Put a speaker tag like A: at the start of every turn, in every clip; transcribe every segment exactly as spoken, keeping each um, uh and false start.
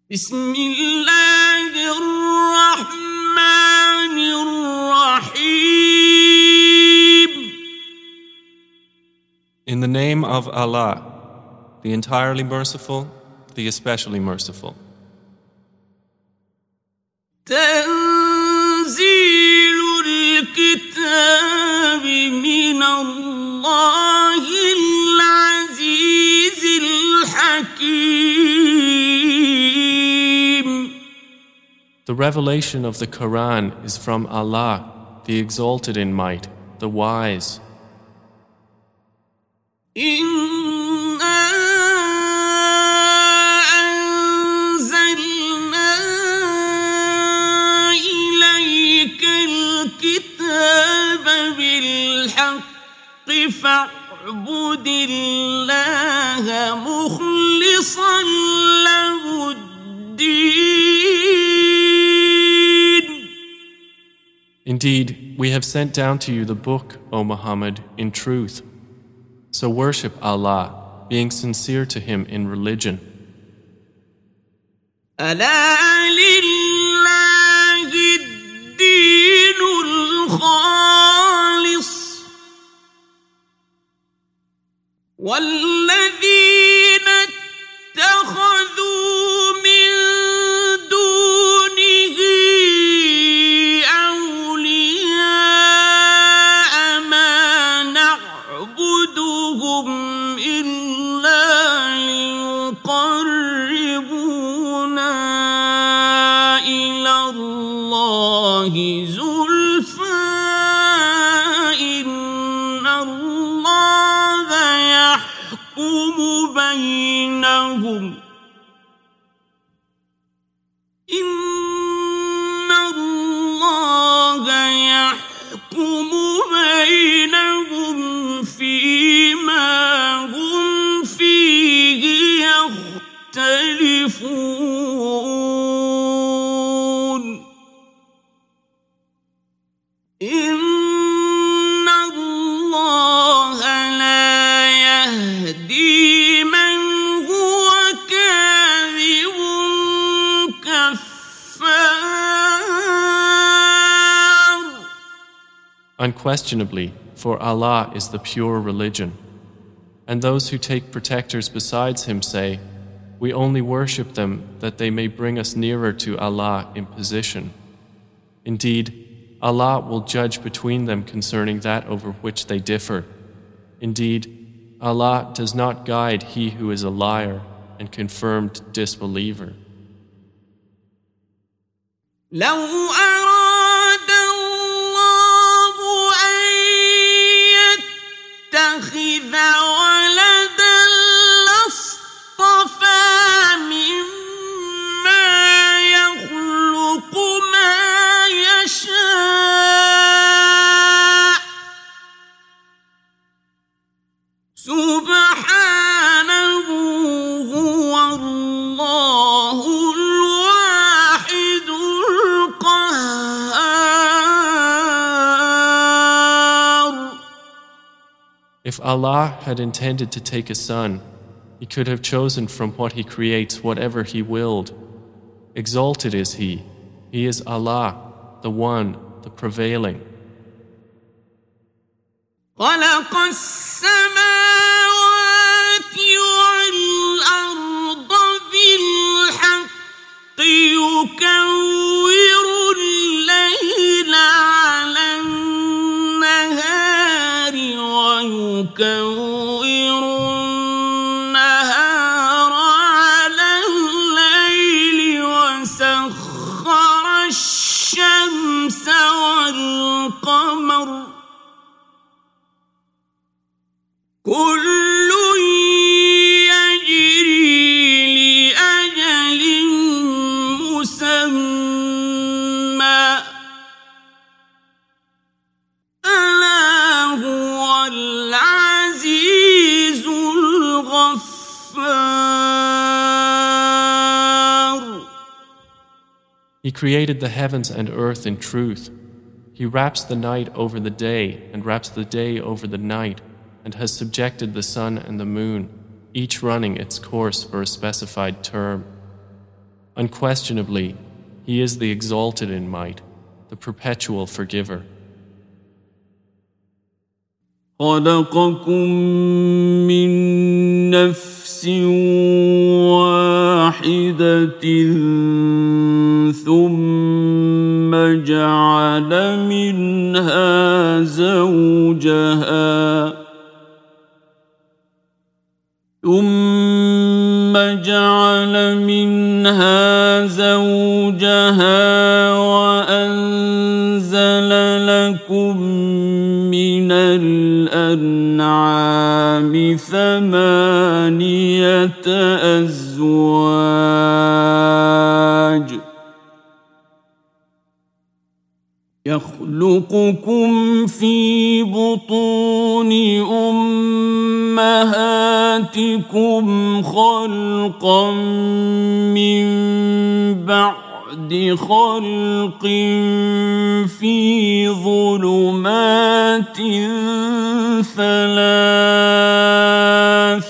A: بسم الله الرحمن الرحيم.
B: In the name of Allah, the entirely merciful, the especially merciful.
A: تنزيل الكتاب من الله العزيز الحكيم.
B: The revelation of the Quran is from Allah, the exalted in might, the wise.
A: إنا أنزلنا إليك الكتاب بالحق فاعبد الله مخلصا له الدين.
B: Indeed, we have sent down to you the book, O Muhammad, in truth. So worship Allah, being sincere to Him in religion.
A: ألا لله الدين الخالص والذين اتخذوا من دونه أولياء ما نعبدهم إلا ليقربونا إلى الله زلفى إن الله يحكم بينهم إن الله يحكم بينهم فيما هم فيه يختلفون إن الله لا يهدي من هو كاذب كفار.
B: Unquestionably, for Allah is the pure religion. And those who take protectors besides Him say, we only worship them that they may bring us nearer to Allah in position. Indeed, Allah will judge between them concerning that over which they differ. Indeed, Allah does not guide he who is a liar and confirmed disbeliever.
A: لو أراد الله أن يتخذ ولدا لاصطفى مما يخلق ما يشاء سبحانه هو الله الواحد القهار.
B: If Allah had intended to take a son, He could have chosen from what He creates whatever He willed. Exalted is He. He is Allah, the One, the Prevailing.
A: خلق السماوات والأرض بالحق يكور الليل على النهار ويكور النهار على الليل وسخر الشمس والقمر كل يجري لأجل مسمى ألا هو العزيز الغفار.
B: He created the heavens and earth in truth. He wraps the night over the day and wraps the day over the night, and has subjected the sun and the moon, each running its course for a specified term. Unquestionably, He is the exalted in might, the perpetual forgiver.
A: خلقكم من نفس واحدة ثم جعل منها زوجها ثم جعل منها زوجها وأنزل لكم من الأنعام ثمانية أزواج يخلقكم في بطون أمهاتكم خلقا من بعد خلق في ظلمات ثلاث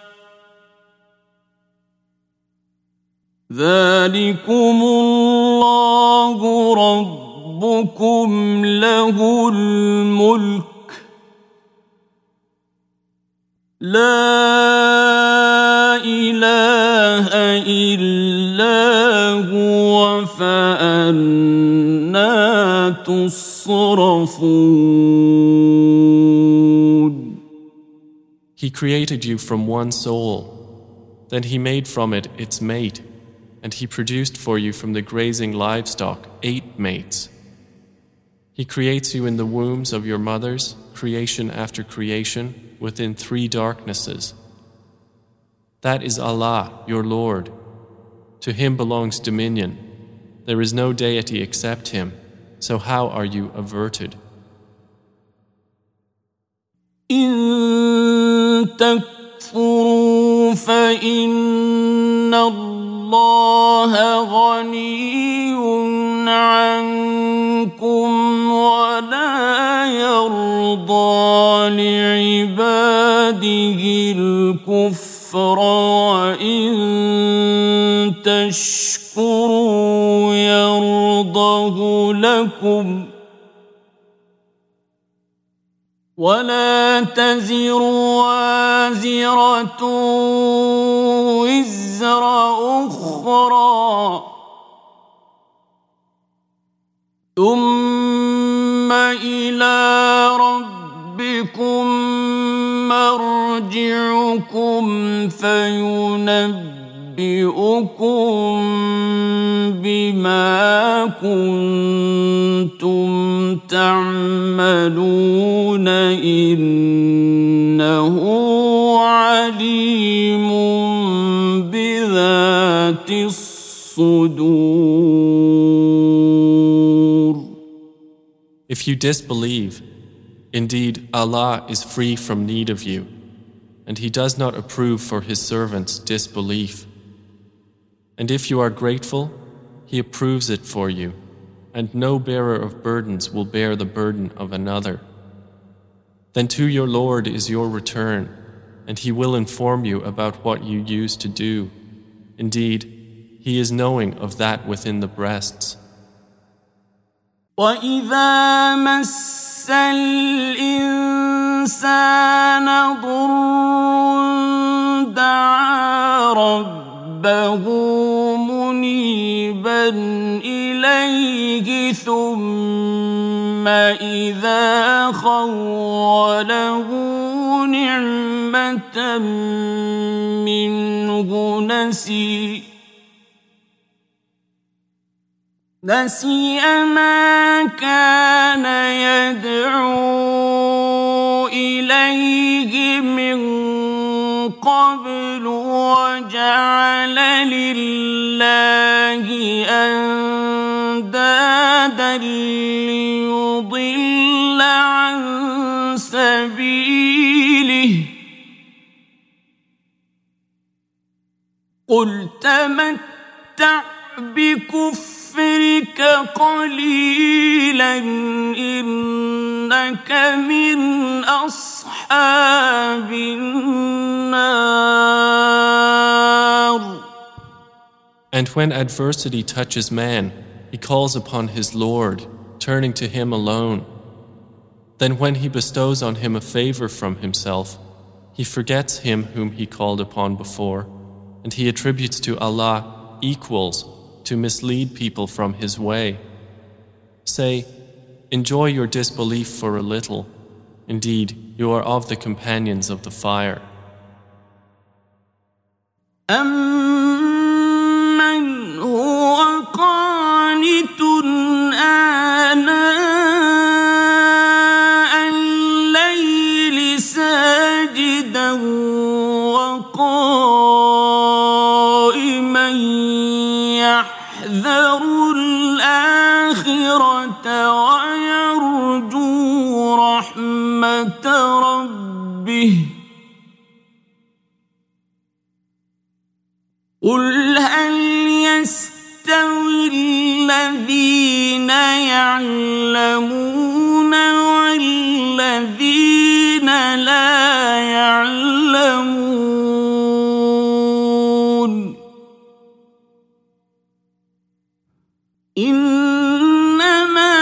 A: ذلكم الله ربكم له الملك لا إله إلا هو فأنى تصرفون.
B: He created you from one soul, then He made from it its mate, and He produced for you from the grazing livestock eight mates. He creates you in the wombs of your mothers, creation after creation, within three darknesses. That is Allah, your Lord. To Him belongs dominion. There is no deity except Him, so how are you averted?
A: إن تكفروا فإن الله غني عنكم ولا يرضى لعباده الكفر وإن تشكروا يرضه لكم ولا تزر وازرة وزر أخرى ثم إلى ربكم مرجعكم فينبئكم بما كنتم تعملون إنه عليم بذات الصدور.
B: If you disbelieve, indeed Allah is free from need of you, and He does not approve for His servants disbelief. And if you are grateful, He approves it for you, and no bearer of burdens will bear the burden of another. Then to your Lord is your return, and He will inform you about what you used to do. Indeed, He is knowing of that within the breasts.
A: وَإِذَا مَسَّ الْإِنسَانَ ضُرٌّ دَعَا رَبَّهُ مُنِيبًا إِلَيْهِ ثُمَّ إِذَا خَوَّلَهُ نِعْمَةً مِّنْهُ نَسِيَ نسي ما كان يدعو إليه من قبل وجعل لله أندادا ليضل عن سبيله قل تمتع بكفرك قليلا إنك من أصحاب النار.
B: And when adversity touches man, he calls upon his Lord, turning to him alone. Then when he bestows on him a favor from himself, he forgets him whom he called upon before, and he attributes to Allah equals to mislead people from his way. Say, enjoy your disbelief for a little. Indeed, you are of the companions of the fire.
A: أَمَّنْ هُوَ قَانِتٌ آنَاءَ اللَّيْلِ سَاجِدًا وَقَائِمًا يَحْذَرُ الْآخِرَةَ وَيَرْجُو رَحْمَةَ رَبِّهِ قُلْ هَلْ يَسْتَوِي الَّذِينَ يَعْلَمُونَ وَالَّذِينَ لَا يَعْلَمُونَ إِنَّمَا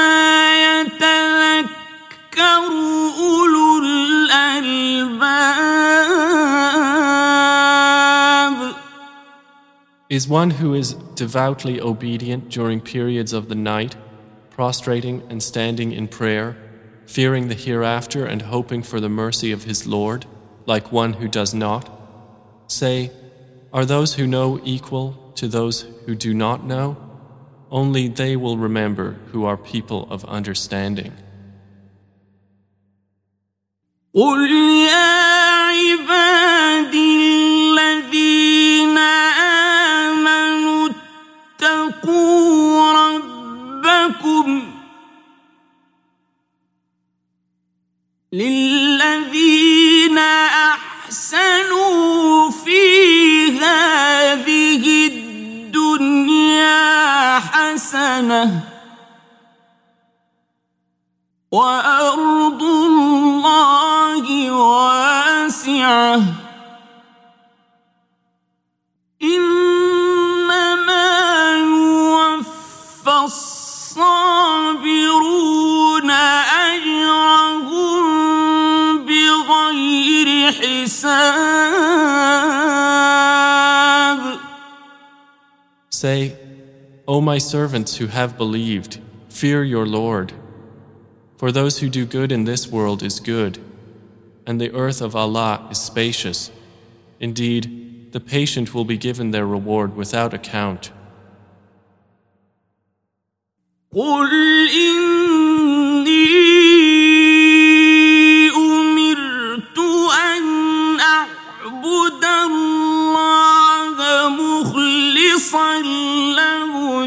A: يَتَذَكَّرُ أُولُو الْأَلْبَابِ.
B: Is one who is devoutly obedient during periods of the night, prostrating and standing in prayer, fearing the hereafter and hoping for the mercy of his Lord, like one who does not? Say, are those who know equal to those who do not know? Only they will remember who are people of understanding.
A: قُلْ يَا عِبَادِي الَّذِينَ آمَنُوا اتَّقُوا رَبَّكُمْ لِلَّذِينَ أَحْسَنُوا فِي هَٰذِهِ الدُّنْيَا حَسَنَةٌ وَأَرْضُ اللَّهِ وَاسِعَةٌ إِنَّمَا يُوَفَّى الصَّابِرُونَ أَجْرَهُم بِغَيْرِ حِسَابٍ.
B: Say, O my servants who have believed, fear your Lord. For those who do good in this world is good, and the earth of Allah is spacious. Indeed, the patient will be given their reward without account.
A: قُلْ إِنِّي أُمِرْتُ أَنْ أَعْبُدَ اللَّهَ مُخْلِصًا لَهُ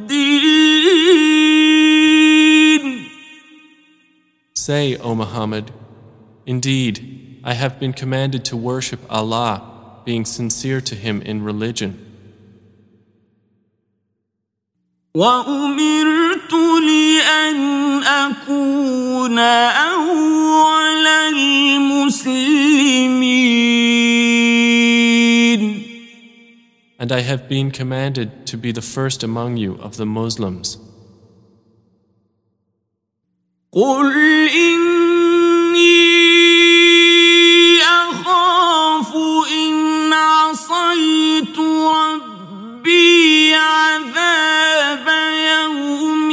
A: الدِّينَ.
B: Say, O Muhammad, indeed, I have been commanded to worship Allah, being sincere to Him in religion.
A: وَأُمِرْتُ لِأَنْ أَكُونَ أَوَّلَ الْمُسْلِمِينَ.
B: And I have been commanded to be the first among you of the Muslims.
A: قُلْ إِنِّي أَخَافُ إِنْ عَصَيْتُ رَبِّي عَذَابَ يَوْمٍ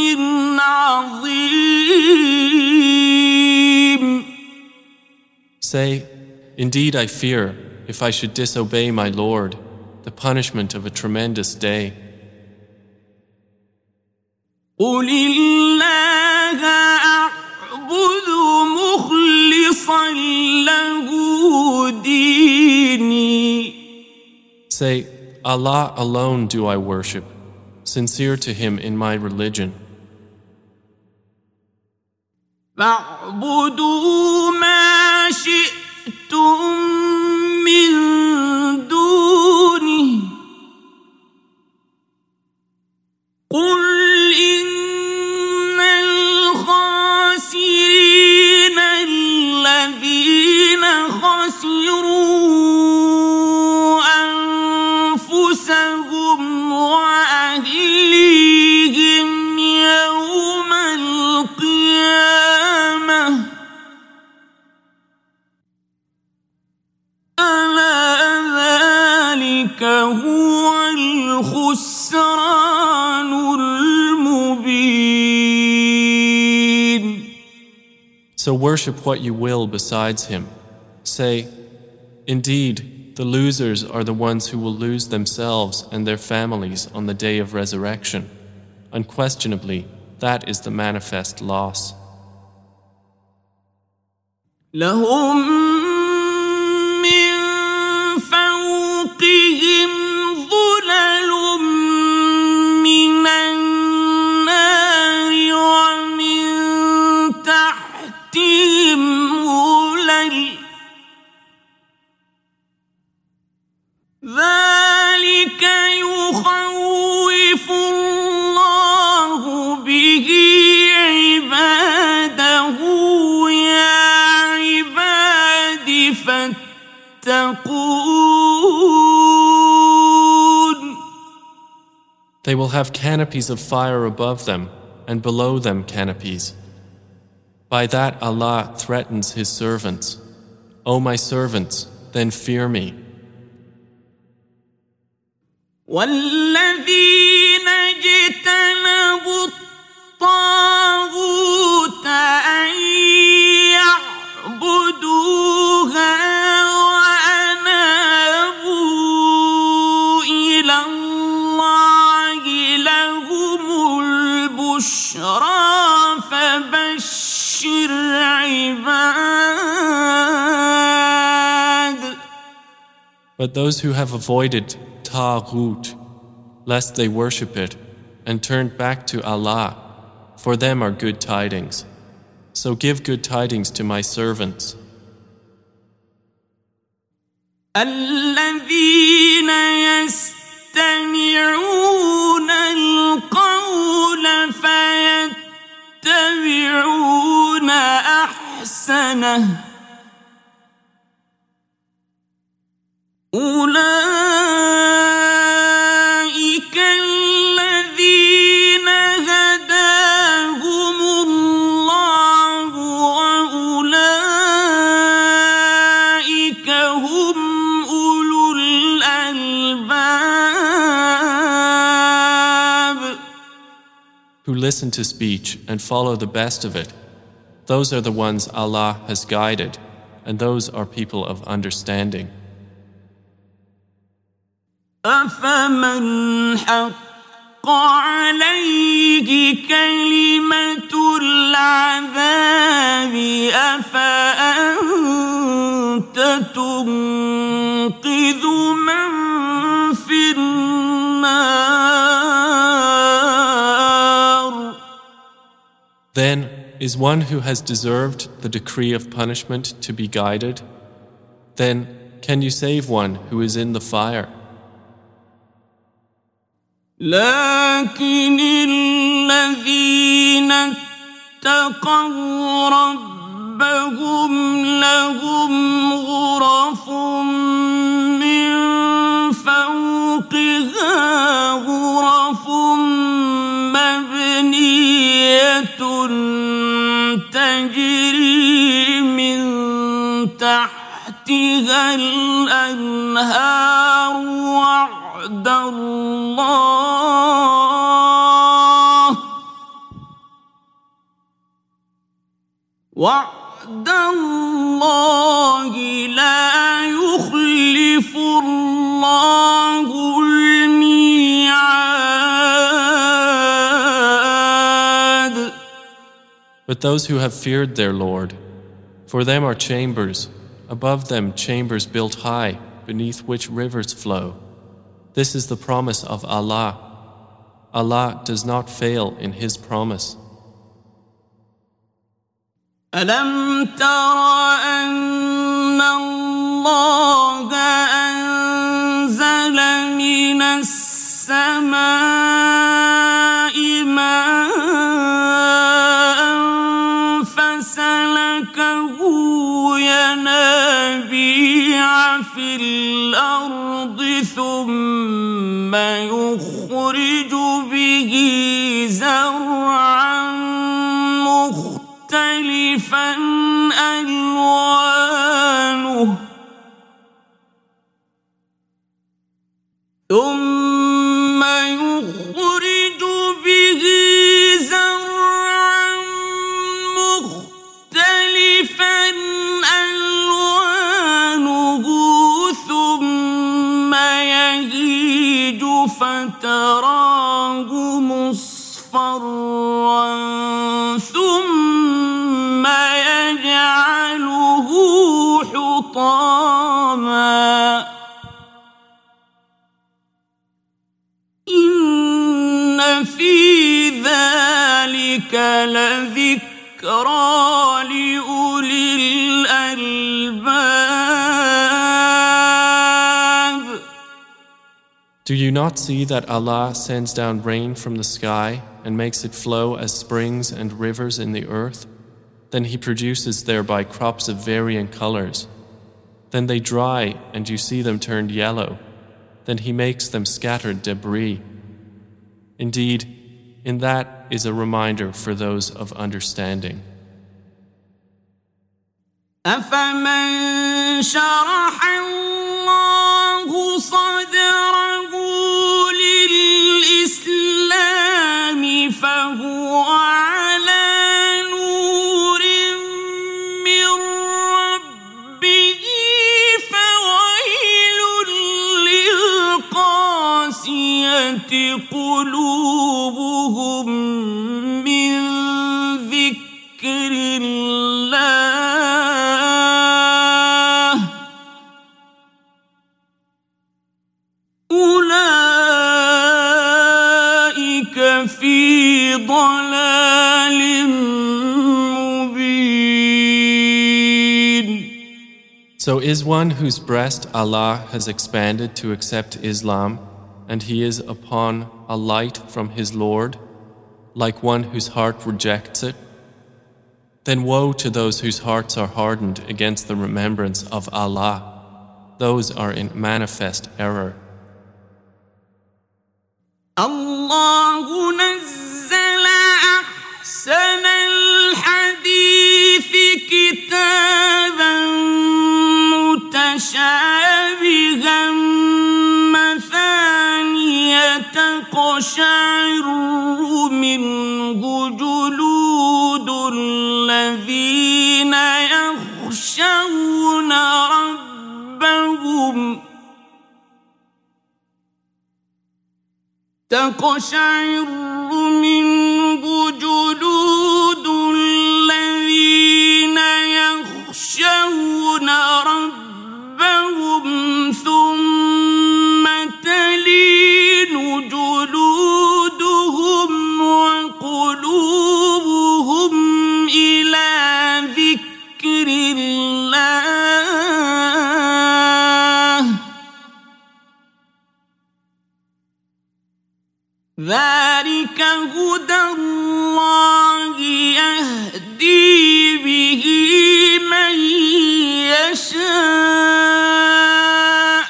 A: عَظِيمٍ.
B: Say, indeed I fear, if I should disobey my Lord, the punishment of a tremendous day.
A: قُلِ اللَّهَ أَعْبُدُ مُخْلِصًا لَهُ دِينِي.
B: Say, Allah alone do I worship, sincere to Him in my religion.
A: فَاعْبُدُوا مَا شِئْتُم مِّن دُونِهِ قُلْ إِنَّ الْخَاسِرِينَ الَّذِينَ خَسِرُوا أَنفُسَهُمْ الخسران المبين.
B: So worship what you will besides him. Say, indeed, the losers are the ones who will lose themselves and their families on the day of resurrection. Unquestionably, that is the manifest loss.
A: لهم من فوقهم ظلل من النار ومن تحتهم ظلل ذلك يخوف الله به عباده يا عباد فاتقون.
B: They will have canopies of fire above them, and below them canopies. By that Allah threatens His servants. O my servants, then fear me.
A: والذين اجتنبوا الطاغوت أن يعبدوها وأنابوا إلى الله لهم البشرى فبشر عباد.
B: But those who have avoided Taghut, lest they worship it, and turned back to Allah, for them are good tidings. So give good tidings to my servants.
A: الذين يستمعون القول فيتبعون أحسنه أولئك الذين هداهم الله وأولئك هم أولو الألباب.
B: Who listen to speech and follow the best of it, those are the ones Allah has guided, and those are people of understanding.
A: أفمن حق عليه كلمة العذاب أفأنت تنقذ من في النار.
B: Then is one who has deserved the decree of punishment to be guided? Then can you save one who is in the fire?
A: لكن الذين اتقوا ربهم لهم غرف من فوقها غرف مبنية تجري من تحتها الأنهار وعد الله وعد الله لا يخلف الله الميعاد.
B: But those who have feared their Lord, for them are chambers, above them chambers built high, beneath which rivers flow. This is the promise of Allah. Allah does not fail in His promise.
A: ألم تر أن الله أنزل من السماء ماء فسلكه ينابيع في الأرض ثم يخرج به زرعا مختلفا ألوانه ثم فتراه مصفرا ثم يجعله حطاما إن في ذلك لذكرى لأولي الألباب.
B: Do you not see that Allah sends down rain from the sky and makes it flow as springs and rivers in the earth? Then He produces thereby crops of varying colors. Then they dry and you see them turned yellow. Then He makes them scattered debris. Indeed, in that is a reminder for those of understanding.
A: أفمن شرح الله صدره للإسلام فهو على نور من ربه فويل للقاسية قلوبهم من ذكر الله أولئك في ضلال مبين.
B: So is one whose breast Allah has expanded to accept Islam, and he is upon a light from his Lord, like one whose heart rejects it? Then woe to those whose hearts are hardened against the remembrance of Allah. Those are in manifest error.
A: الله نزل أحسن الحديث كتابا متشابها مثانية تقشعر منه جلود الذين يخشون ربهم تقشعر منه جلود الذين يخشون ربهم ثم تلين جلودهم وقلوبهم إلى ذكر الله ذلك هدى الله يهدي به من يشاء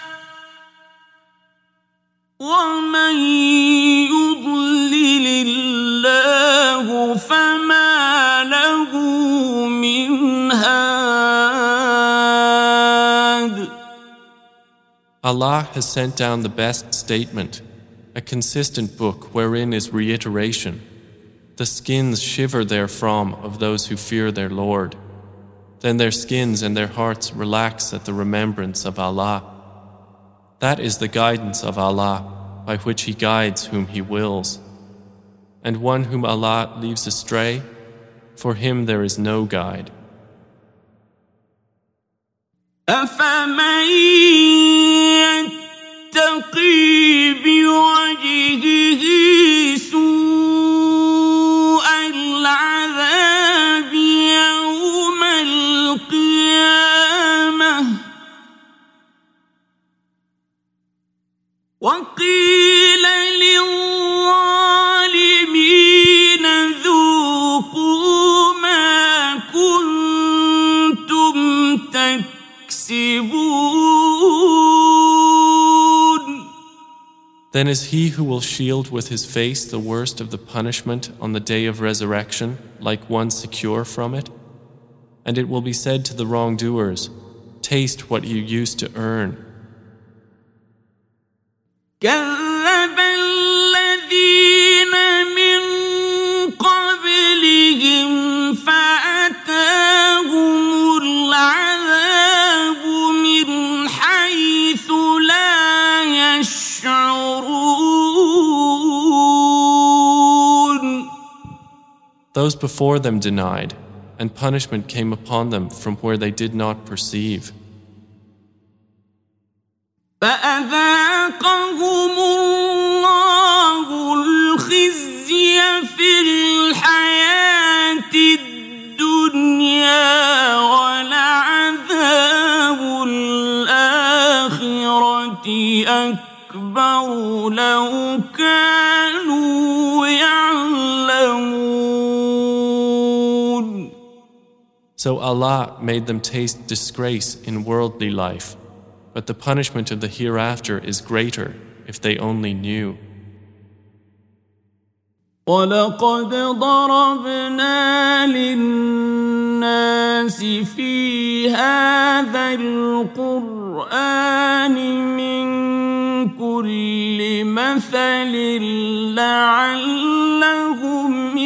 A: ومن يضلل الله فما له من هاد.
B: Allah has sent down the best statement, a consistent book wherein is reiteration. The skins shiver therefrom of those who fear their Lord. Then their skins and their hearts relax at the remembrance of Allah. That is the guidance of Allah, by which He guides whom He wills. And one whom Allah leaves astray, for him there is no guide.
A: أفمن يتقي بوجهه سوء العذاب يوم القيامة وقيل للظالمين ذوقوا ما كنتم تكسبون.
B: Then is he who will shield with his face the worst of the punishment on the day of resurrection like one secure from it? And it will be said to the wrongdoers, taste what you used to earn.
A: كذب الذين من قبلهم فأتاهم العذاب من حيث لا يشعرون.
B: Those before them denied, and punishment came upon them from where they did not perceive.
A: فأذاقهم الله الخزي في الحياة الدنيا ولعذاب الآخرة أكبر لو كانوا يعلمون.
B: So Allah made them taste disgrace in worldly life, but the punishment of the hereafter is greater if they only knew.
A: وَلَقَدْ ضَرَبْنَا لِلنَّاسِ فِي هَذَا الْقُرْآنِ مِنْ كُلِّ مَثَلٍ لَعَلَّهُمْ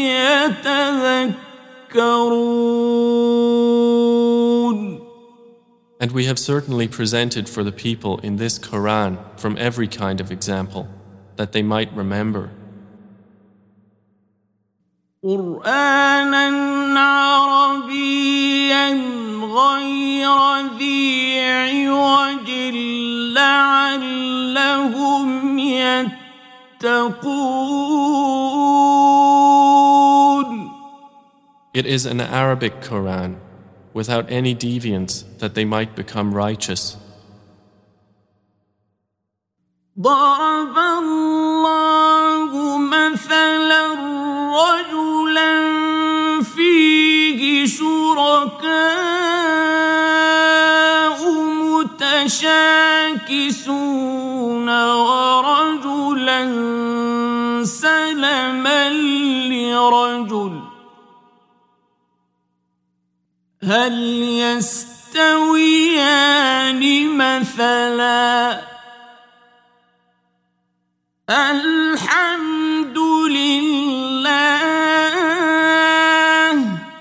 A: يَتَذَكَّرُونَ.
B: And we have certainly presented for the people in this Quran from every kind of example, that they might remember.
A: قرآناً عربياً غير ذي عوج لعلهم يتقون.
B: It is an Arabic Quran, without any deviance, that they might become righteous.
A: ضرب الله مثلاً رجلاً فيه شركاء متشاكسون ورجلاً سلماً لرجل هل يستويان مثلاً الحمد لله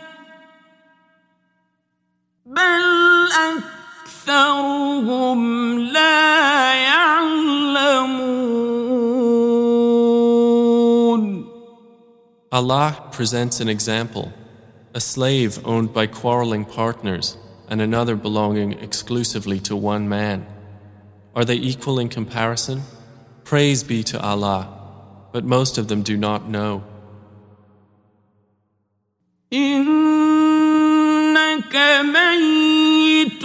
A: بل أكثرهم لا يعلمون.
B: Allah presents an example, a slave owned by quarreling partners and another belonging exclusively to one man. Are they equal in comparison? Praise be to Allah, but most of them do not know.
A: إنك ميت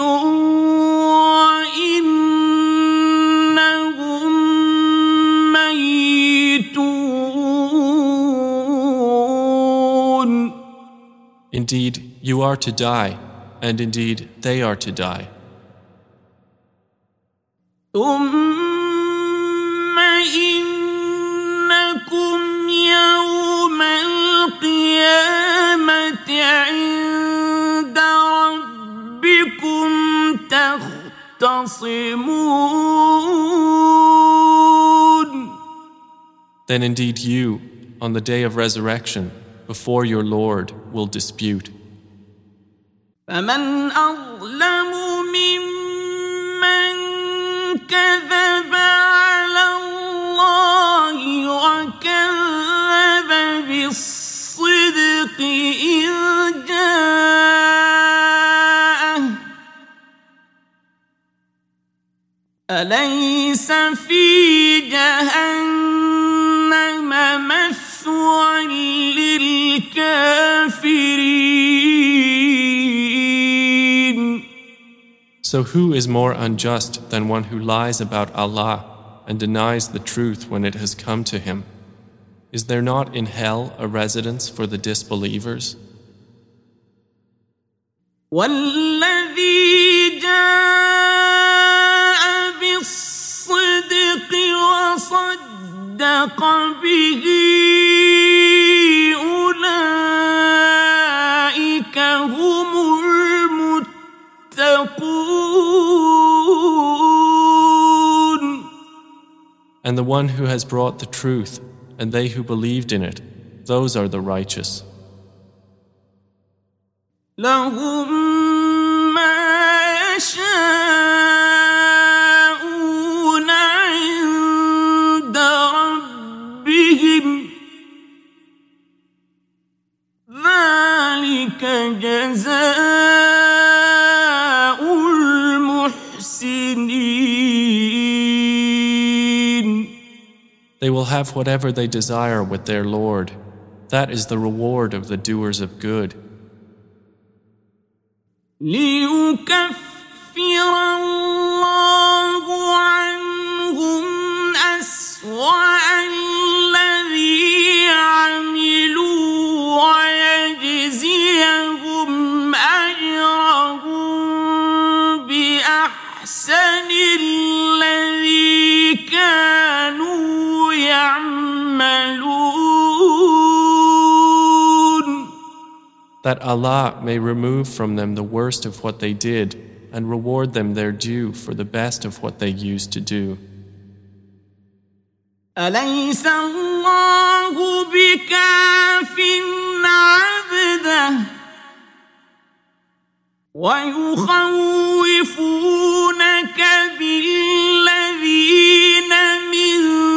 A: وإنهم ميتون.
B: Indeed, you are to die, and indeed they are to die.
A: ثم إنكم يوم القيامة عند ربكم تختصمون.
B: Then indeed you, on the day of resurrection, before your Lord, will dispute.
A: فمن أظلم ممن كذب على الله وكذب بالصدق إذ جاءه أليس في جهنم مثوى للكافرين.
B: So who is more unjust than one who lies about Allah and denies the truth when it has come to him? Is there not in hell a residence for the disbelievers?
A: والذي جاء بالصدق وصدق به أولئك هم المتقون.
B: And the one who has brought the truth and they who believed in it, those are the righteous.
A: لهم ما يشاءون عند ربهم
B: They will have whatever they desire with their Lord. That is the reward of the doers of good.
A: ليكفر الله عنهم أسوأ الذي عملوا ويجزيهم أجرهم بأحسن الذي كانوا يعملون.
B: That Allah may remove from them the worst of what they did and reward them their due for the best of what they used to do.
A: أليس الله بكاف عبده ويخوفونك بالذين من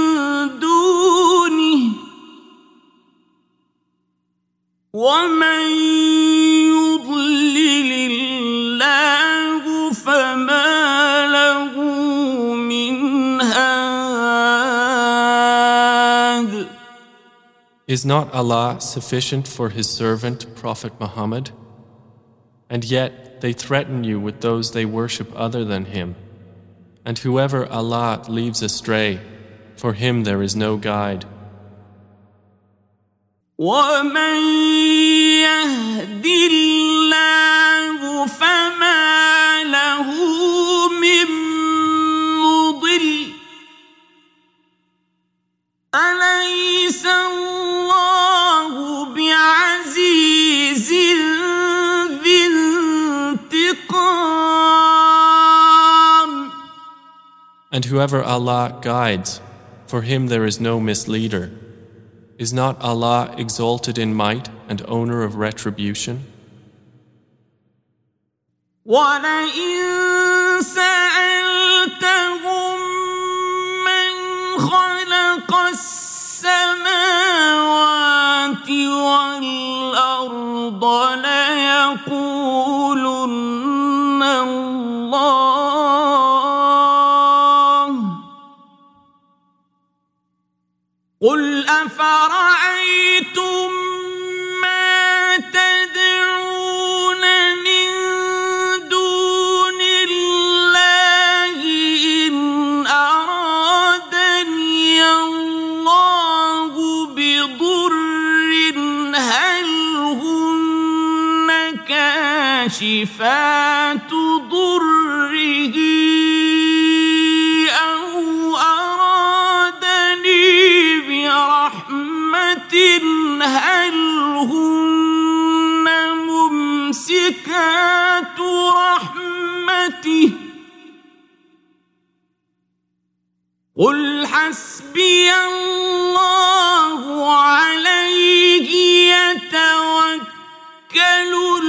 A: دونه ومن يضلل الله فما له من هاد.
B: Is not Allah sufficient for His servant Prophet Muhammad? And yet they threaten you with those they worship other than Him. And whoever Allah leaves astray, for him there is no guide.
A: وَمَن يَهْدِ اللَّهُ فَمَا لَهُ مِن مُّضِلٍّ. أَلَيْسَ اللَّهُ بِعَزِيزٍ ذِي انتِقَامٍ.
B: And whoever Allah guides, for him there is no misleader. Is not Allah exalted in might and owner of retribution?
A: وَلَئِن سَأَلْتَهُم مَّنْ خَلَقَ السَّمَاوَاتِ وَالْأَرْضَ لَيَقُولُنَّ اللَّهُ. قُلْ أَفَرَأَيْتُم مَّا تَدْعُونَ مِن دُونِ اللَّهِ إِنْ أَرَادَنِيَ اللَّهُ بِضُرٍّ هَلْ هُنَّ كَاشِفَاتُ ضُرِّهِ هل هن ممسكات رحمته. قل حسبي الله عليه يتوكل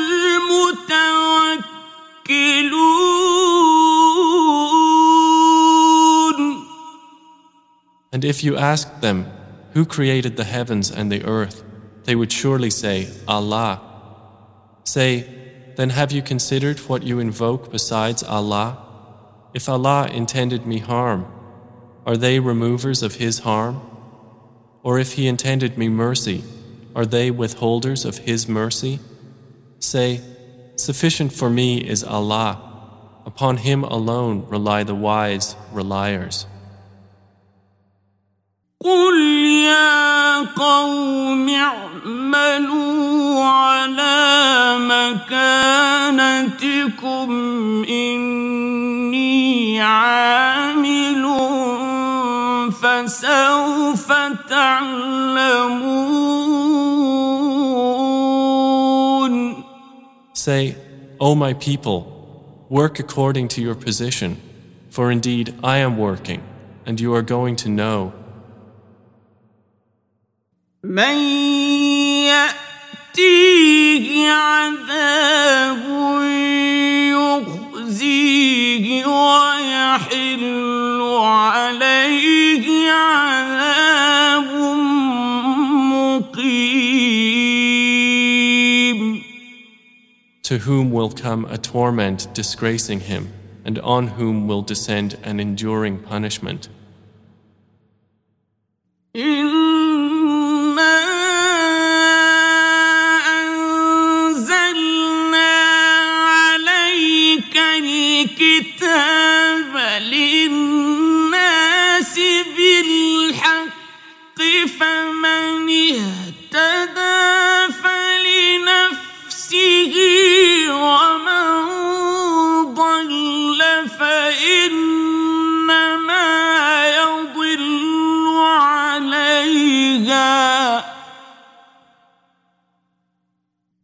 A: المتوكلون.
B: And if you asked them, who created the heavens and the earth? They would surely say, Allah. Say, then have you considered what you invoke besides Allah? If Allah intended me harm, are they removers of His harm? Or if He intended me mercy, are they withholders of His mercy? Say, sufficient for me is Allah. Upon Him alone rely the wise reliers.
A: قُلْ يَا قَوْمِ اعْمَلُوا عَلَى مَكَانَتِكُمْ إِنِّي عَامِلٌ فَسَوْفَ تَعْلَمُونَ.
B: Say, O my people, work according to your position, for indeed I am working, and you are going to know.
A: من يأتيه عذاب يخزيه ويحل عليه عذاب مقيم.
B: To whom will come a torment disgracing him, and on whom will descend an enduring punishment.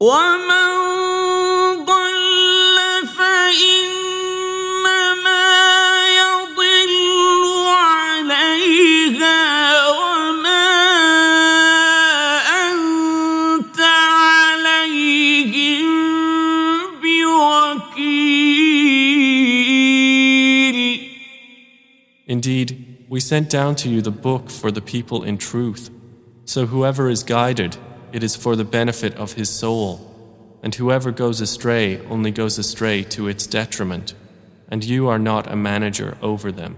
A: ومن ضل فإنما يضل عليها وما أنت عليهم بوكيل.
B: Indeed, we sent down to you the book for the people in truth. So whoever is guided, it is for the benefit of his soul, and whoever goes astray only goes astray to its detriment, and you are not a manager over them.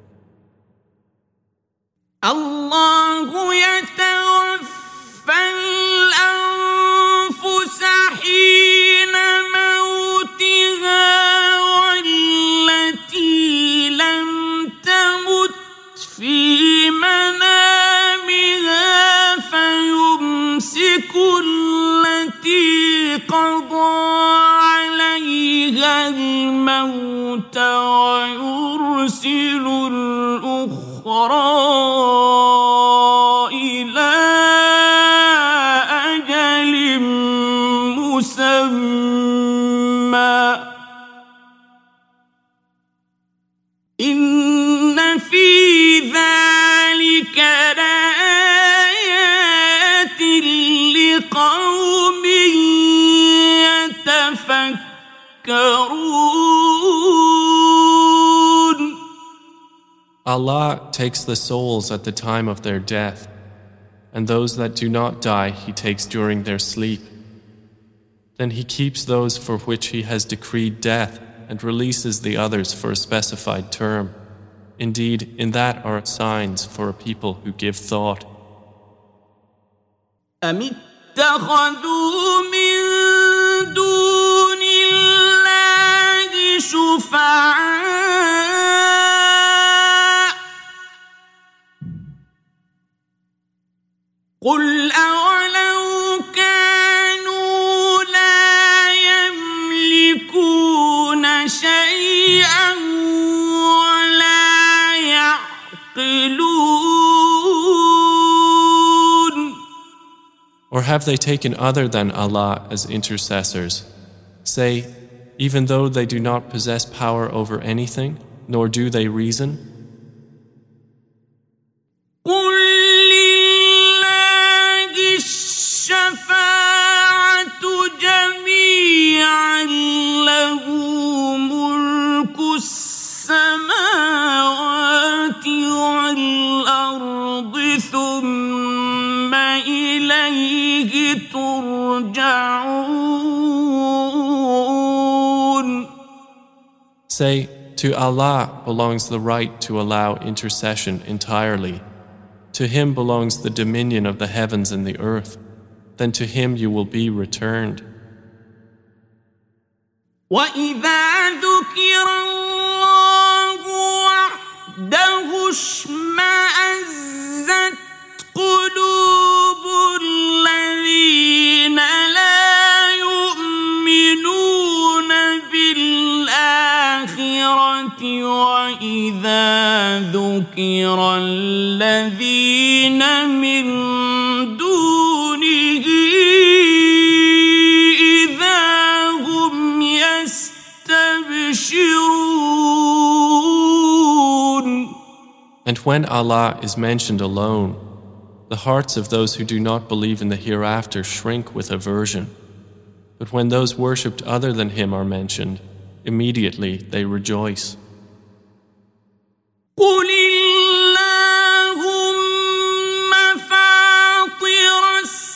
A: الله يتوفى الأنفس حين موتها والتي لم تمت في منامها فيمسك التي قضى عليها الموت ويرسل الأخرى إلى أجل مسمى إن في ذلك لآيات لقوم يتفكرون.
B: Allah takes the souls at the time of their death, and those that do not die He takes during their sleep. Then He keeps those for which He has decreed death and releases the others for a specified term. Indeed, in that are signs for a people who give thought.
A: أم اتخذوا من دون الله شفعاء قل أولو كانوا لا يملكون شيئا ولا يعقلون.
B: Or have they taken other than Allah as intercessors? Say, even though they do not possess power over anything, nor do they reason?
A: قل لله الشفاعة جميعا له ملك السماوات والأرض ثم إليه ترجعون.
B: Say, to Allah belongs the right to allow intercession entirely. To Him belongs the dominion of the heavens and the earth. Then to Him you will be returned.
A: وَإِذَا ذُكِرَ اللَّهُ وَحْدَهُ اشْمَأَزَّتْ قُلُوبُ الَّذِينَ لَا يُؤْمِنُونَ بِالْآخِرَةِ وَإِذَا ذُكِرَ الَّذِينَ مِن دُونِهِ إِذَا هُمْ يَسْتَبْشِرُونَ.
B: And when Allah is mentioned alone, the hearts of those who do not believe in the hereafter shrink with aversion. But when those worshipped other than Him are mentioned, immediately they rejoice.
A: قل اللهم فاطر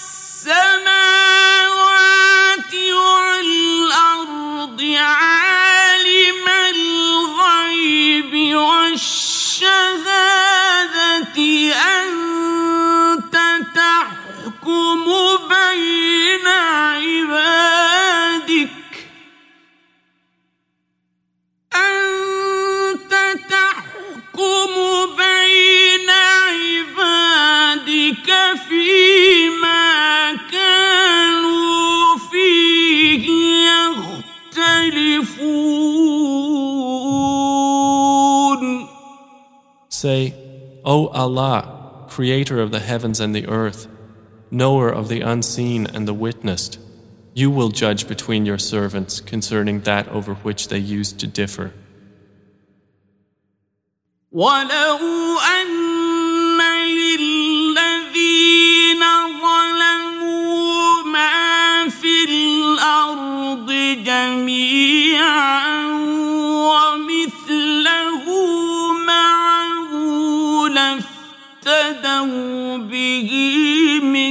A: السماوات والأرض عالم الغيب والشهادة أنت تحكم بين عبادك أنت تحكم بين عبادك فيما كانوا فيه يختلفون.
B: Say, O Allah, Creator of the heavens and the earth, Knower of the unseen and the witnessed, You will judge between your servants concerning that over which they used to differ.
A: وَلَوْ أَنَّ لِلَّذِينَ ظَلَمُوا مَا فِي الْأَرْضِ جَمِيعًا وَمِثْلَهُ مَعَهُ لَافْتَدَوْا بِهِ مِنْ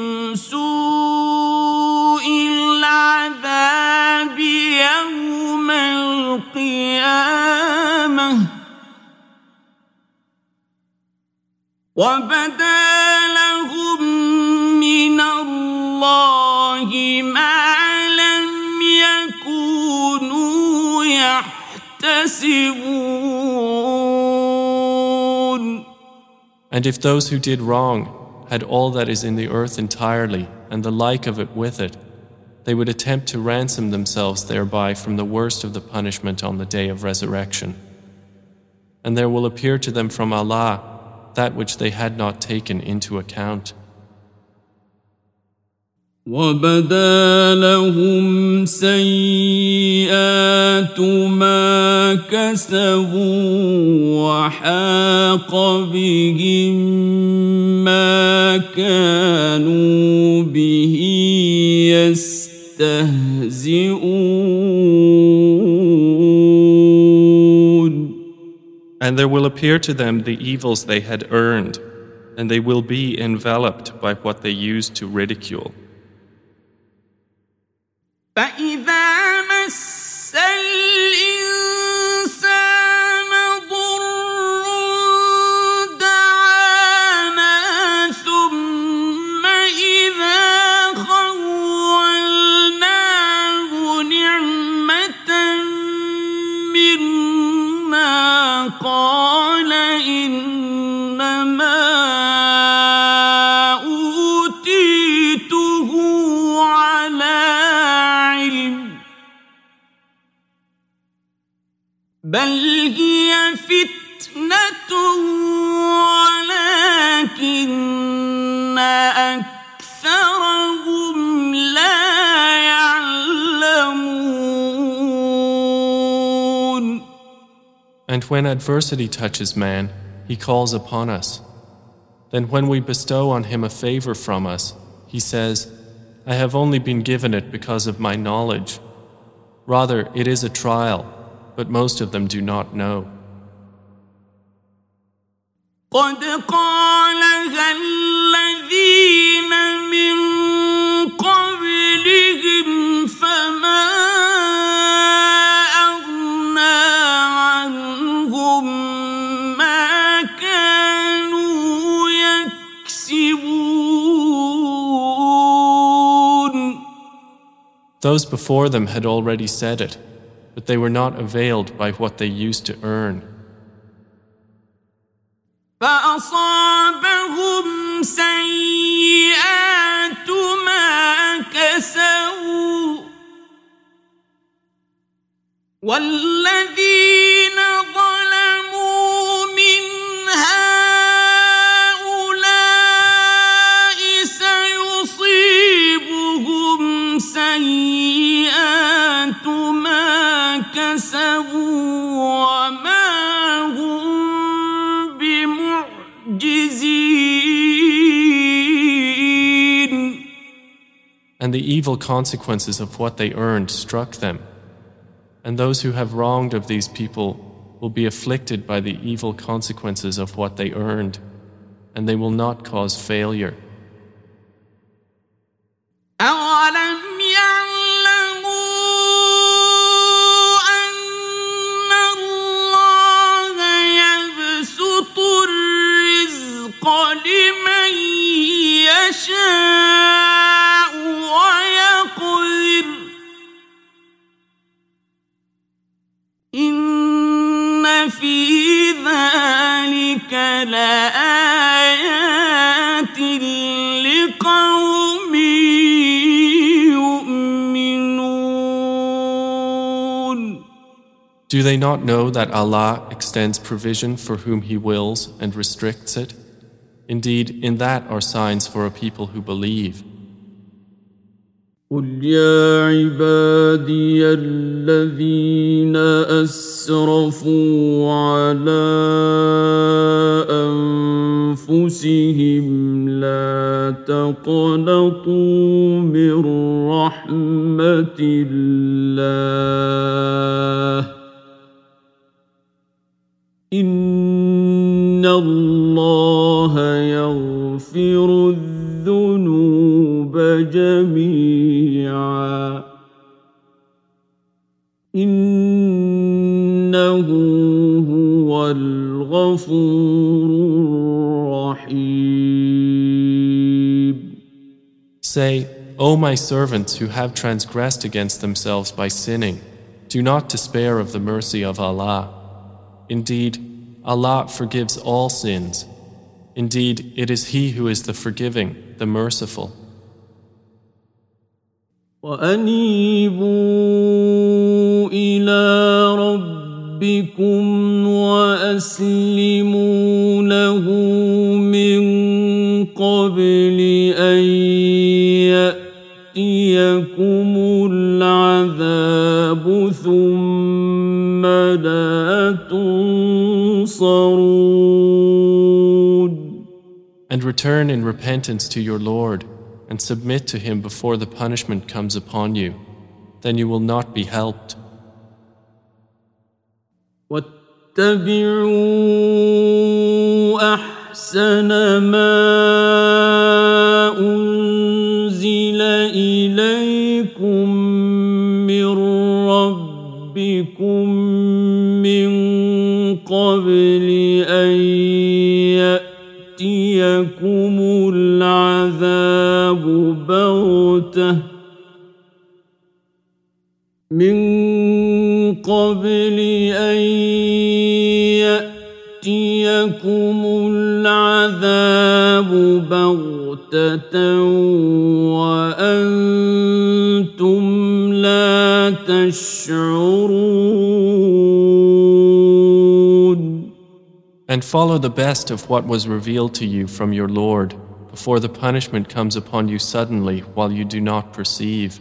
A: سُوءِ الْعَذَابِ يَوْمَ الْقِيَامَةِ وَبَدَا لَهُم مِّنَ اللَّهِ مَا لَمْ يَكُونُوا يَحْتَسِبُونَ.
B: And if those who did wrong had all that is in the earth entirely and the like of it with it, they would attempt to ransom themselves thereby from the worst of the punishment on the day of resurrection. And there will appear to them from Allah that which they had not taken into account.
A: وَبَدَا لَهُمْ سَيِّئَاتُ مَا كَسَبُوا وَحَاقَ بِهِم مَّا كَانُوا بِهِ يَسْتَهْزِئُونَ.
B: And there will appear to them the evils they had earned, and they will be enveloped by what they used to ridicule.
A: فَإِذَا مَسَّ الْإِنسَانَ ضُرٌّ دَعَانَا ثُمَّ إِذَا خَوَّلْنَاهُ نِعْمَةً مِّنَّا قَالَ إِنَّمَا أُوتِيتُهُ عَلَى عِلْمٍ بَلْ هِيَ فِتْنَةٌ وَلَكِنَّ أَكْثَرَهُمْ لَا يَعْلَمُونَ.
B: And when adversity touches man, he calls upon us. Then when we bestow on him a favor from us, he says, I have only been given it because of my knowledge. Rather, it is a trial, but most of them do not know.
A: قَدْ قَالَهَا الَّذِينَ مِن قَبْلِهِمْ فَمَا أَغْنَىٰ عَنْهُم مَّا كَانُوا يَكْسِبُونَ.
B: Those before them had already said it, but they were not availed by what they used to earn.
A: فَأَصَابَهُمْ سَيِّئَاتُ مَا كَسَبُوا وَالَّذِينَ ظَلَمُوا مِنْ هَٰؤُلَاءِ سَيُصِيبُهُمْ سَيِّئَاتُ مَا كَسَبُوا وَمَا هُمْ بِمُعْجِزِينَ.
B: And the evil consequences of what they earned struck them. And those who have wronged of these people will be afflicted by the evil consequences of what they earned, and they will not cause failure.
A: أَوَلَمْ يَعْلَمُوا أَنَّ اللَّهَ يَبْسُطُ الرِّزْقَ لِمَن يَشَاءُ وَيَقْدِرُ إِنَّ فِي ذَلِكَ لَآيَاتٍ لِقَوْمٍ يُؤْمِنُونَ.
B: Do they not know that Allah extends provision for whom He wills and restricts it? Indeed, in that are signs for a people who believe.
A: قل يا عبادي الذين أسرفوا على أنفسهم لا تقنطوا من رحمة الله إن الله يغفر الذنوب جميعا إنه هو الغفور الرحيم.
B: Say, O my servants who have transgressed against themselves by sinning, do not despair of the mercy of Allah. Indeed, Allah forgives all sins. Indeed, it is He who is the forgiving, the merciful.
A: وَأَنِيبُوا إِلَىٰ رَبِّكُمْ وَأَسْلِمُوا لَهُ مِن قَبْلِ أَن يَأْتِيَكُمُ الْعَذَابُ ثُمَّ لَا تُنصَرُونَ.
B: And return in repentance to your Lord, and submit to Him before the punishment comes upon you. Then you will not be helped.
A: وَاتَّبِعُوا أَحْسَنَ مَا أُنزِلَ إِلَيْكُم مِّن رَّبِّكُم مِّن قَبْلِ أَن يَأْتِيَكُمُ الْعَذَابُ بَغْتَةً من قبل أن يأتيكم العذاب بغتة وأنتم لا تشعرون.
B: And follow the best of what was revealed to you from your Lord before the punishment comes upon you suddenly while you do not perceive.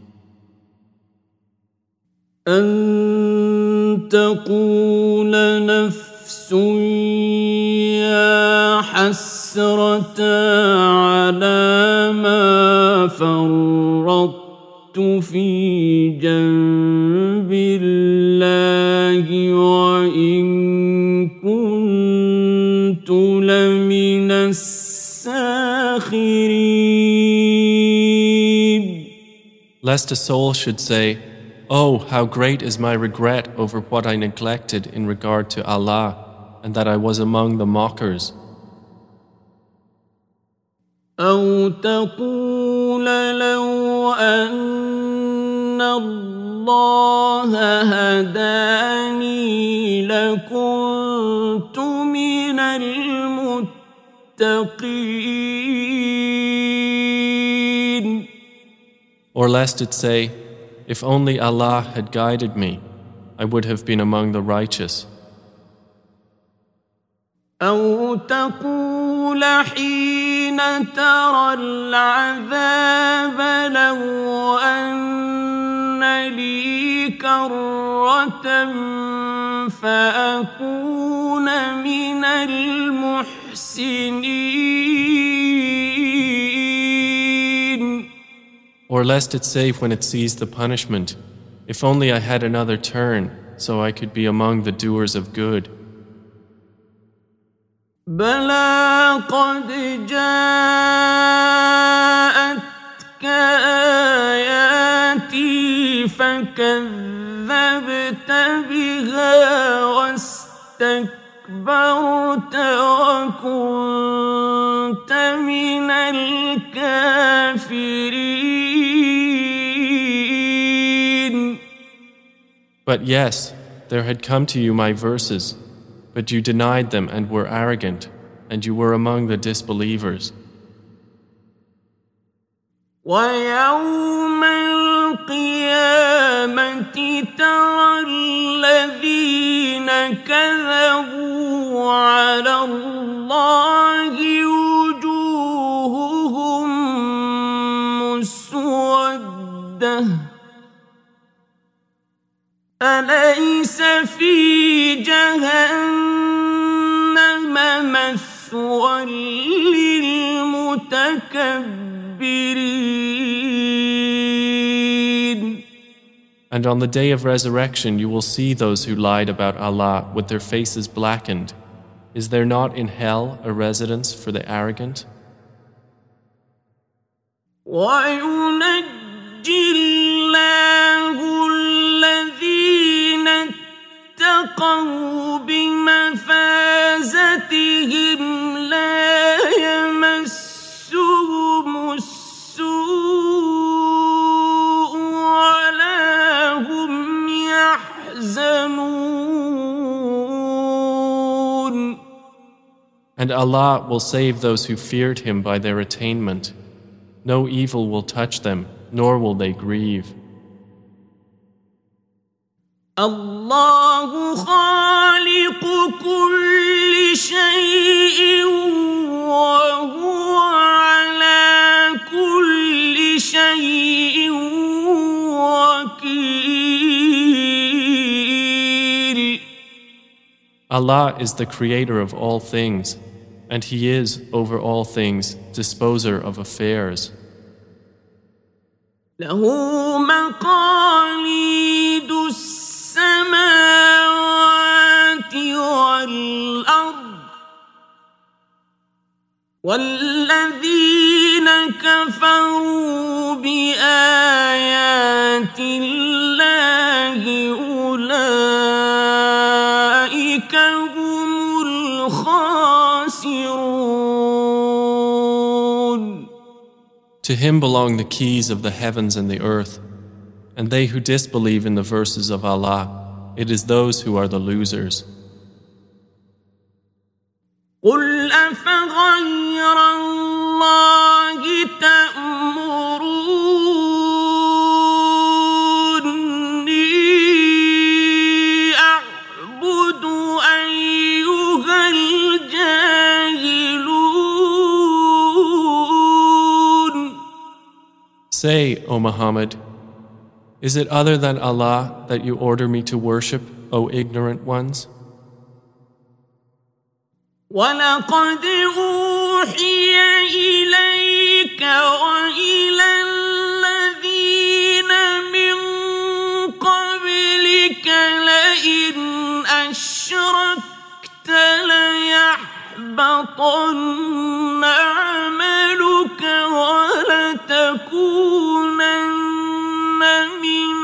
A: أن تقول نفس يا حسرة على ما فرطت في جنب الله وإن كنت لمن الساخرين.
B: Lest a soul should say, Oh, how great is my regret over what I neglected in regard to Allah, and that I was among the mockers.
A: أو تقول لو أن الله هداني لكنت من المتقين.
B: Or lest it say, If only Allah had guided me, I would have been among the righteous.
A: أو تقول حين ترى العذاب لو أن لي كرة فأكون من المحسنين.
B: Or lest it say when it sees the punishment, If only I had another turn, so I could be among the doers of good.
A: بلى قد جاءتك آياتي فكذبت بها واستكبرت وكنت من الكافرين.
B: But yes, there had come to you my verses, but you denied them and were arrogant, and you were among the disbelievers.
A: وَيَوْمَ الْقِيَامَةِ تَرَى الَّذِينَ كَذَبُوا عَلَى اللَّهِ وُجُوهُهُم مُّسْوَدَّةٌ وَدَّةٌ أَلَيْسَ فِي جَهَنَّمَ مَثْوًى لِلْمُتَكَبِّرِينَ.
B: And on the day of resurrection you will see those who lied about Allah with their faces blackened. Is there not in hell a residence for the arrogant?
A: وَيُنَجِّي اللَّهُ الَّذِينَ اتَّقَوْا بِمَفَازَتِهِمْ لَا يَمَسُّهُمُ السُّوءُ وَلَا هُمْ يَحْزَنُونَ.
B: And Allah will save those who feared Him by their attainment. No evil will touch them, nor will they grieve.
A: الله خالق كل شيء وهو على كل شيء وكيل.
B: Allah is the creator of all things, and He is, over all things, disposer of affairs.
A: له مقاليد السماوات والأرض والذين كفروا بآيات الله أولئك هم الخاسرون.
B: To Him belong the keys of the heavens and the earth, and they who disbelieve in the verses of Allah, it is those who are the losers.
A: قُلْ أَفَغَيْرَ اللَّهِ تَأْمُرُونِّي أَعْبُدُ أَيُّهَا الْجَاهِلُونَ.
B: Say, O Muhammad, is it other than Allah that you order me to worship, O ignorant ones?
A: وَلَقَدْ أُوحِيَ إِلَيْكَ وَإِلَى الَّذِينَ مِن قَبْلِكَ لَئِنْ أَشْرَكْتَ لَيَحْبَطَنَّ عَمَلُكَ وَلَتَكُونَنَّ مِنَ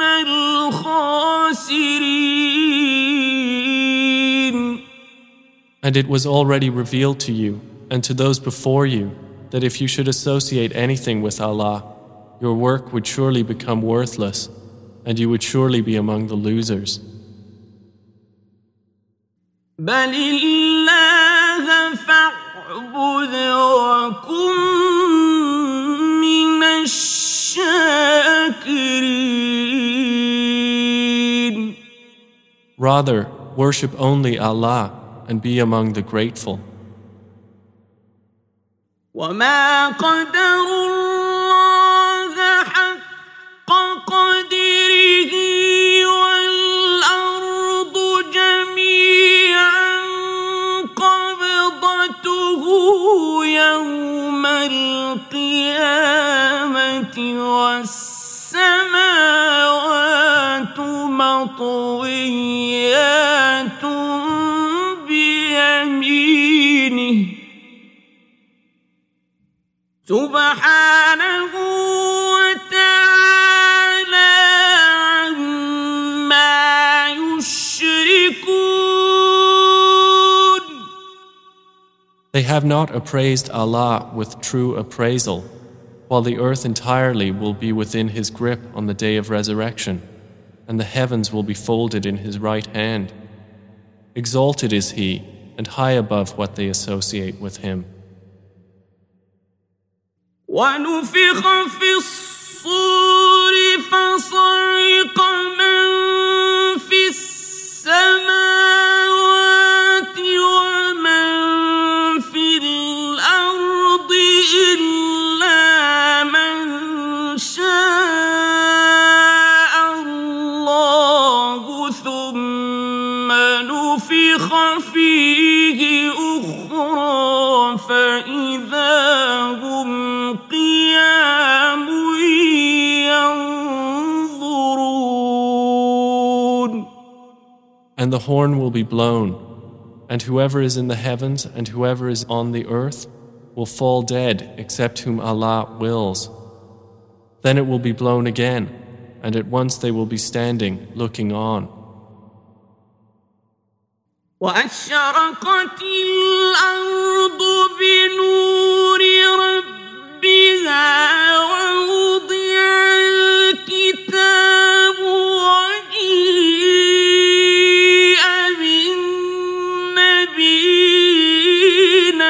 A: الْخَاسِرِينَ.
B: And it was already revealed to you and to those before you that if you should associate anything with Allah, your work would surely become worthless, and you would surely be among the losers.
A: بَلِ اللَّهَ فَاعْبُدْ وَكُن مِّنَ الشَّاكِرِينَ.
B: Rather, worship only Allah and be among the grateful.
A: وَمَا قَدَرُوا اللَّهَ حَقَّ قَدْرِهِ وَالْأَرْضُ جَمِيعًا قَبْضَتُهُ يَوْمَ الْقِيَامَةِ وَالسَّمَاوَاتُ مَطْوِيَّاتٌ بِيَمِينِهِ سُبْحَانَهُ وَتَعَالَى عَمَّا يُشْرِكُونَ.
B: They have not appraised Allah with true appraisal, while the earth entirely will be within His grip on the day of resurrection, and the heavens will be folded in His right hand. Exalted is He, and high above what they associate with Him.
A: وَنُفِخَ فِي الصُّورِ فَصَعِقَ مَن فِي السَّمَاوَاتِ وَمَن فِي الْأَرْضِ إِلَّا مَن شَاءَ
B: And the horn will be blown, and whoever is in the heavens and whoever is on the earth will fall dead except whom Allah wills. Then it will be blown again, and at once they will be standing, looking on.
A: وأشرقت الأرض بنور ربها ووضع الكتاب وجيء بالنبيين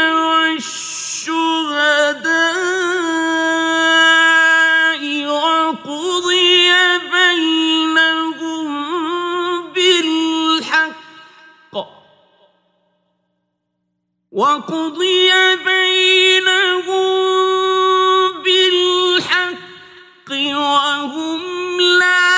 A: والشهداء وقضي بينهم بالحق وقضي بينهم بالحق وهم لا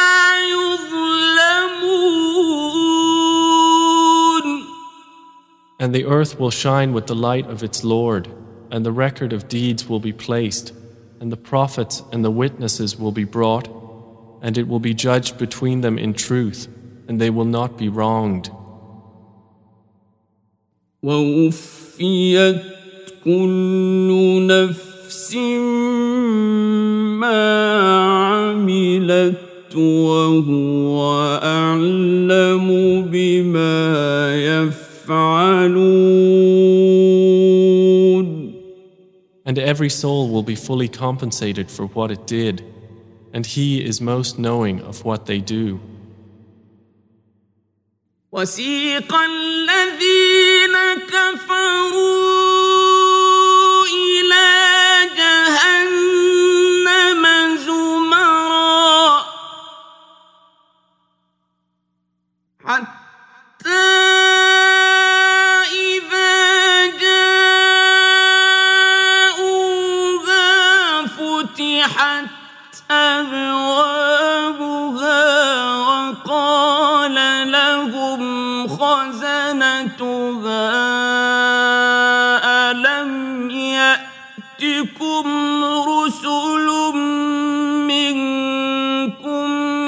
A: يظلمون.
B: And the earth will shine with the light of its Lord, and the record of deeds will be placed, and the prophets and the witnesses will be brought, and it will be judged between them in truth, and they will not be wronged.
A: ووفيت كل نفس ما عملت وهو أعلم بما يفعلون.
B: And every soul will be fully compensated for what it did, and He is most knowing of what they do.
A: وسيق الذين كفروا إلى جهنم زمرا حتى إذا جاءوها فتحت أبوابها وقال لهم خزنتها ألم يأتكم رسل منكم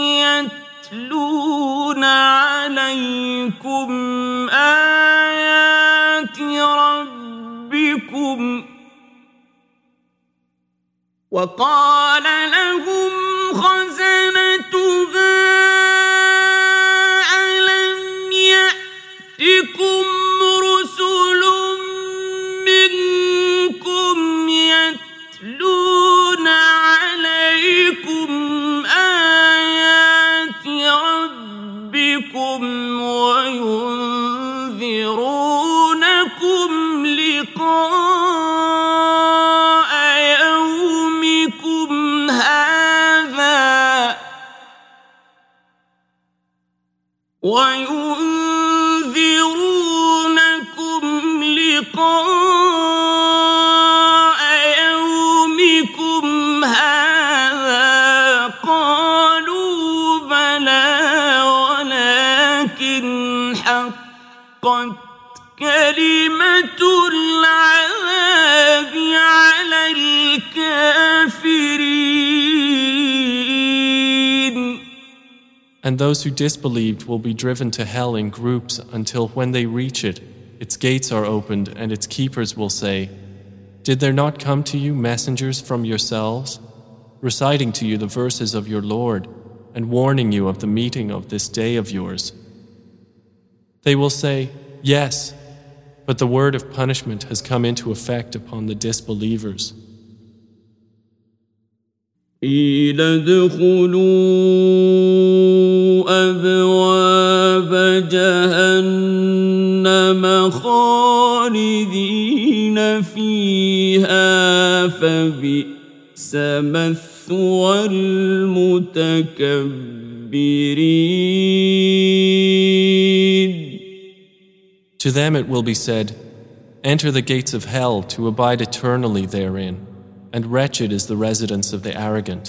A: يتلون عليكم آيات ربكم وقال لهم خزنتها يأتكم رسل منكم يتلون عليكم آيات ربكم وينذرونكم لقاء يومكم هذا وينذرونكم لقاء يومكم هذا قالوا بلى ولكن حقت كلمة العذاب على الكافرين.
B: And those who disbelieved will be driven to hell in groups until when they reach it, its gates are opened and its keepers will say, "Did there not come to you messengers from yourselves, reciting to you the verses of your Lord and warning you of the meeting of this day of yours?" They will say, "Yes, but the word of punishment has come into effect upon the disbelievers."
A: قيل ادخلوا أبواب جهنم خالدين فيها فبئس مثوى المتكبرين.
B: To them it will be said, "Enter the gates of hell to abide eternally therein, and wretched is the residence of the arrogant."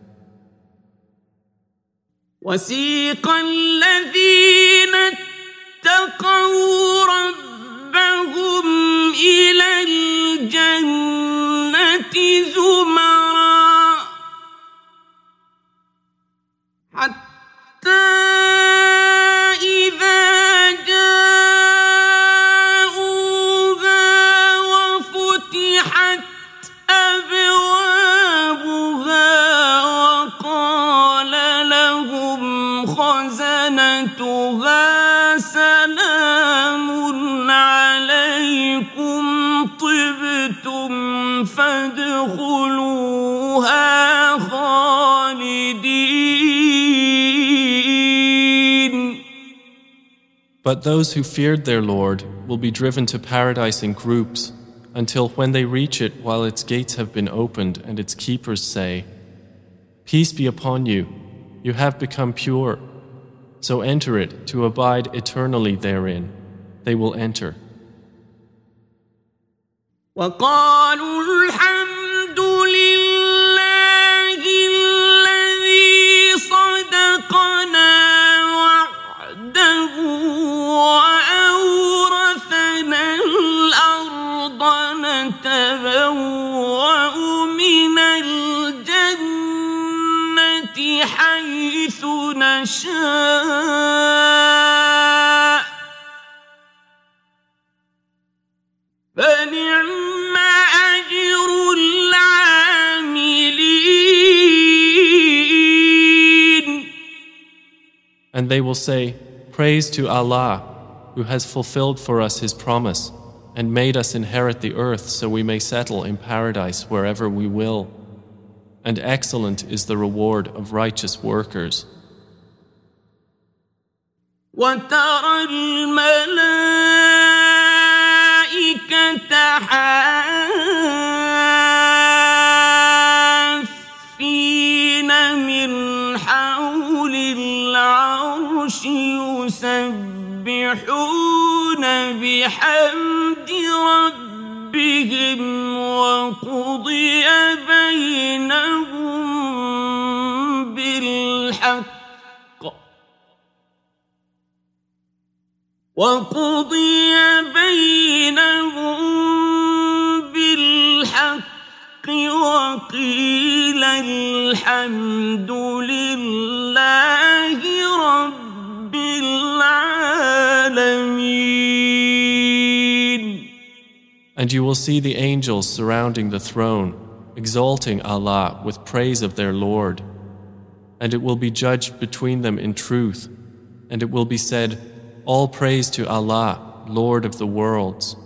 A: وسيق الذين اتقوا ربهم إلى الجنة زمرا حتى إذا
B: But those who feared their Lord will be driven to paradise in groups, until when they reach it while its gates have been opened and its keepers say, "Peace be upon you, you have become pure. So enter it to abide eternally therein." They will enter.
A: وقالوا الحمد لله الذي صدقنا وعده وأورثنا الأرض نتبوأ من الجنة حيث نشاء فنعم أجر العاملين.
B: And they will say, "Praise to Allah, who has fulfilled for us His promise and made us inherit the earth so we may settle in paradise wherever we will. And excellent is the reward of righteous workers."
A: وترى الملائكة حافين من حول العرش يسبحون بحمد ربهم وقضي بينهم بالحق وقضي بينهم بالحق وقيل الحمد لله رب العالمين.
B: And you will see the angels surrounding the throne, exalting Allah with praise of their Lord. And it will be judged between them in truth, and it will be said, "All praise to Allah, Lord of the worlds."